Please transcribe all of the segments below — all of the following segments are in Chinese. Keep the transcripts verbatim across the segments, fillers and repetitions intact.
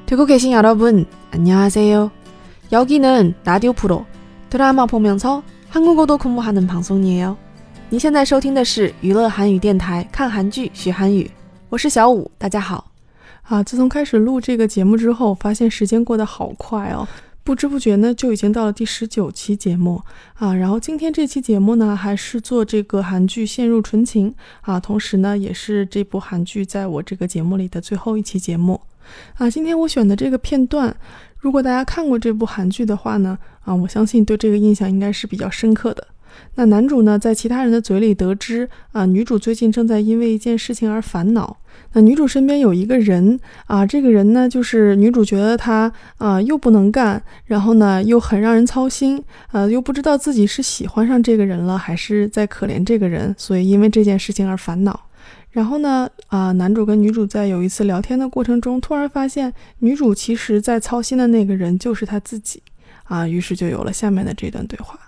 듣고 계신 여러분, 안녕하세요. 여기는 라디오 프로 드라마 보면서 한국어도 공부하는 방송이에요. 你现在收听的是娱乐韩语电台，看韩剧学韩语。我是小五，大家好。啊，自从开始录这个节目之后，发现时间过得好快哦，不知不觉呢就已经到了第十九期节目啊。然后今天这期节目呢，还是做这个韩剧《陷入纯情》啊，同时呢也是这部韩剧在我这个节目里的最后一期节目啊。今天我选的这个片段，如果大家看过这部韩剧的话呢，啊，我相信对这个印象应该是比较深刻的。那男主呢，在其他人的嘴里得知啊，女主最近正在因为一件事情而烦恼。那女主身边有一个人啊，这个人呢，就是女主觉得他啊又不能干，然后呢又很让人操心，呃，又不知道自己是喜欢上这个人了，还是在可怜这个人，所以因为这件事情而烦恼。然后呢，啊，男主跟女主在有一次聊天的过程中，突然发现女主其实在操心的那个人就是他自己啊，于是就有了下面的这段对话。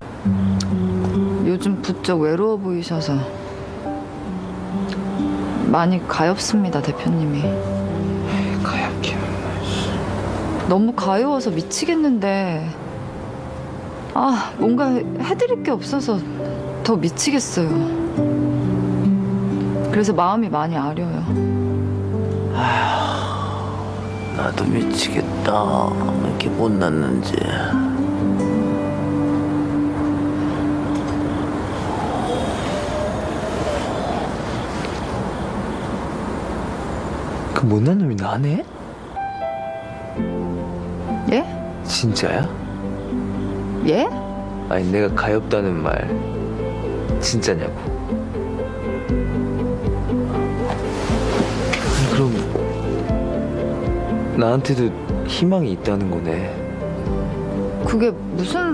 요즘 부쩍 외로워 보이셔서 많이 가엾습니다, 대표님이. 가엾긴 너무 가여워서 미치겠는데 아, 뭔가 해드릴 게 없어서 더 미치겠어요. 그래서 마음이 많이 아려요. 아휴, 나도 미치겠다. 이렇게 못났는지. 그 못난 놈이 나네? 예? 진짜야? 예? 아니 내가 가엾다는 말 진짜냐고. 아니, 그럼 나한테도 희망이 있다는 거네. 그게 무슨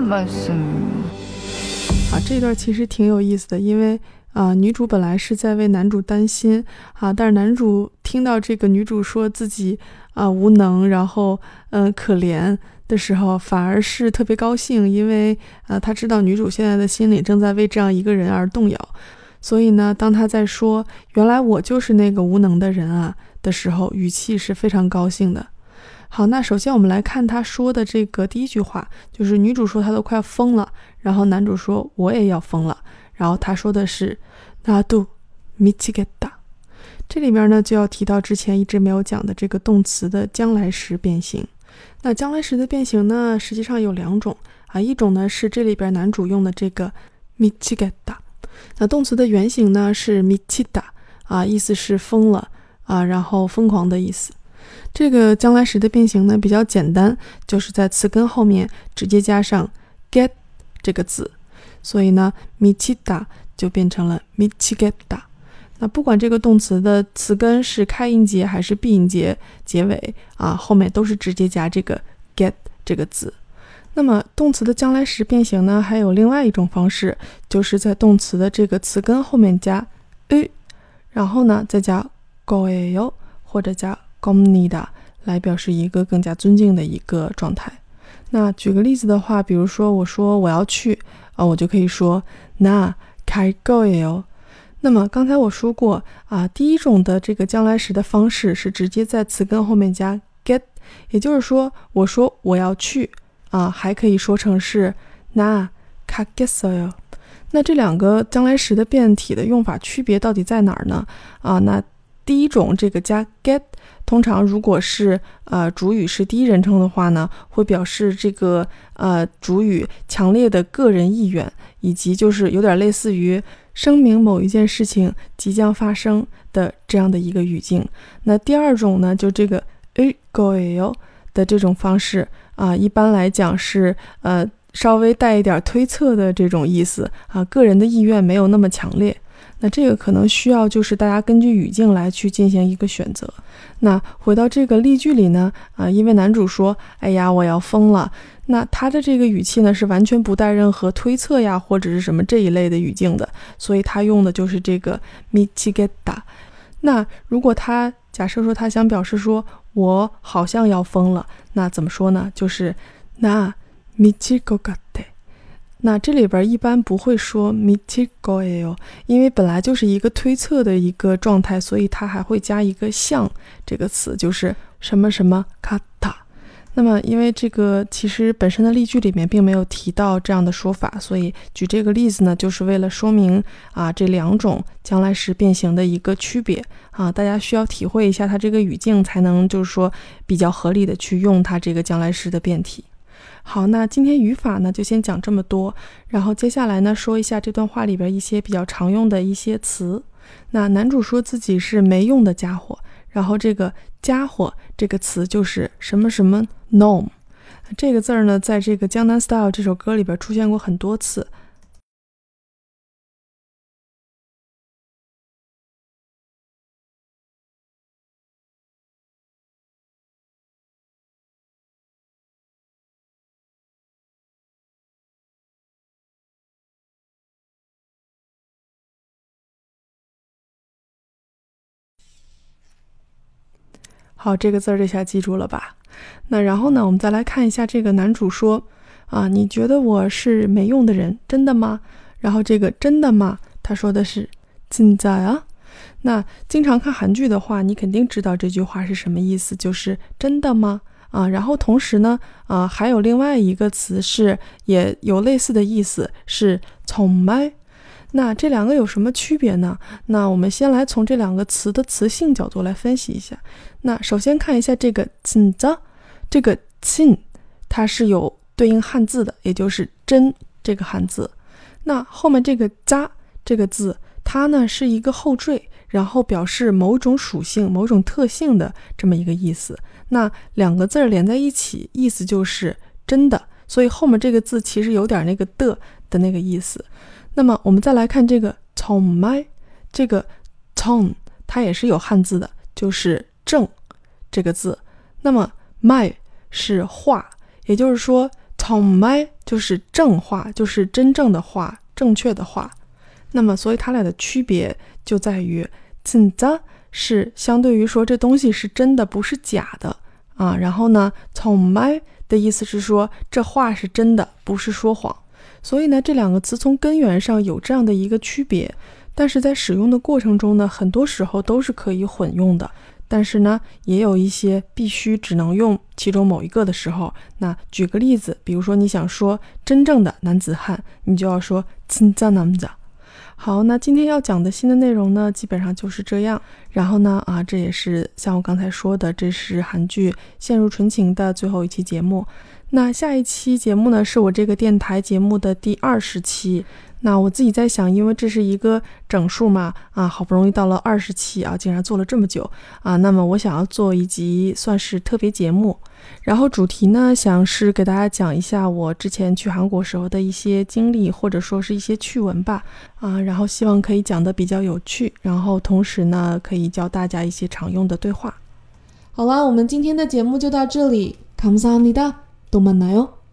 말씀? 啊，这段其实挺有意思的，因为啊，女主本来是在为男主担心啊，但是男主听到这个女主说自己啊无能，然后嗯、呃、可怜的时候，反而是特别高兴，因为啊他知道女主现在的心里正在为这样一个人而动摇，所以呢，当他在说原来我就是那个无能的人啊的时候，语气是非常高兴的。好，那首先我们来看他说的这个第一句话，就是女主说她都快要疯了，然后男主说我也要疯了，然后他说的是나도 미치겠다。这里边呢就要提到之前一直没有讲的这个动词的将来时变形。那将来时的变形呢，实际上有两种啊，一种呢是这里边男主用的这个미치겠다，那动词的原型呢是미치다啊，意思是疯了啊，然后疯狂的意思。这个将来时的变形呢比较简单，就是在词根后面直接加上 get 这个字，所以呢미치다就变成了미치겠다。那不管这个动词的词根是开音节还是闭音节结尾啊，后面都是直接加这个 get 这个字。那么动词的将来时变形呢，还有另外一种方式，就是在动词的这个词根后面加 으， 然后呢再加거예요或者加겁니다来表示一个更加尊敬的一个状态。那举个例子的话，比如说我说我要去啊，我就可以说나 갈 거예요。那么刚才我说过啊，第一种的这个将来时的方式是直接在词根后面加 get， 也就是说我说我要去啊，还可以说成是나 가겠어요。那这两个将来时的变体的用法区别到底在哪儿呢？啊，那第一种这个加 get， 通常如果是呃主语是第一人称的话呢，会表示这个呃主语强烈的个人意愿，以及就是有点类似于声明某一件事情即将发生的这样的一个语境。那第二种呢，就这个을 거예요的这种方式啊、呃，一般来讲是呃稍微带一点推测的这种意思啊，个人的意愿没有那么强烈。那这个可能需要就是大家根据语境来去进行一个选择。那回到这个例句里呢，啊、呃，因为男主说，哎呀，我要疯了。那他的这个语气呢是完全不带任何推测呀或者是什么这一类的语境的，所以他用的就是这个미치겠다。那如果他假设说他想表示说我好像要疯了，那怎么说呢？就是나 미칠 것 같아。那这里边一般不会说미칠 거예요，因为本来就是一个推测的一个状态，所以它还会加一个像这个词，就是什么什么같아。那么因为这个其实本身的例句里面并没有提到这样的说法，所以举这个例子呢，就是为了说明啊这两种将来时变形的一个区别啊，大家需要体会一下它这个语境，才能就是说比较合理的去用它这个将来时的变体。好，那今天语法呢就先讲这么多，然后接下来呢说一下这段话里边一些比较常用的一些词。那男主说自己是没用的家伙，然后这个家伙这个词就是什么什么 놈， 这个字儿呢在这个江南 Style 这首歌里边出现过很多次。好，这个字儿这下记住了吧？那然后呢，我们再来看一下这个男主说啊，你觉得我是没用的人，真的吗？然后这个真的吗？他说的是진짜야。那经常看韩剧的话，你肯定知道这句话是什么意思，就是真的吗？啊，然后同时呢，啊，还有另外一个词是也有类似的意思，是정말。那这两个有什么区别呢？那我们先来从这两个词的词性角度来分析一下。那首先看一下这个진짜，这个진它是有对应汉字的，也就是真这个汉字。那后面这个짜这个字，它呢是一个后缀，然后表示某种属性、某种特性的这么一个意思。那两个字连在一起，意思就是真的，所以后面这个字其实有点那个的的那个意思。那么我们再来看这个정말，这个정它也是有汉字的，就是正这个字。那么말是话，也就是说정말就是正话，就是真正的话，正确的话。那么所以它俩的区别就在于진짜是相对于说这东西是真的，不是假的啊。然后呢정말的意思是说这话是真的，不是说谎。所以呢，这两个词从根源上有这样的一个区别，但是在使用的过程中呢，很多时候都是可以混用的。但是呢，也有一些必须只能用其中某一个的时候。那举个例子，比如说你想说真正的男子汉，你就要说진짜 남자。好，那今天要讲的新的内容呢，基本上就是这样。然后呢，啊，这也是像我刚才说的，这是韩剧《陷入纯情》的最后一期节目。那下一期节目呢，是我这个电台节目的第二十期。那我自己在想，因为这是一个整数嘛，啊，好不容易到了二十期啊，竟然做了这么久啊，那么我想要做一集算是特别节目。然后主题呢，想是给大家讲一下我之前去韩国时候的一些经历，或者说是一些趣闻吧，啊，然后希望可以讲得比较有趣，然后同时呢，可以教大家一些常用的对话。好啦，我们今天的节目就到这里，감사합니다。또 만나요.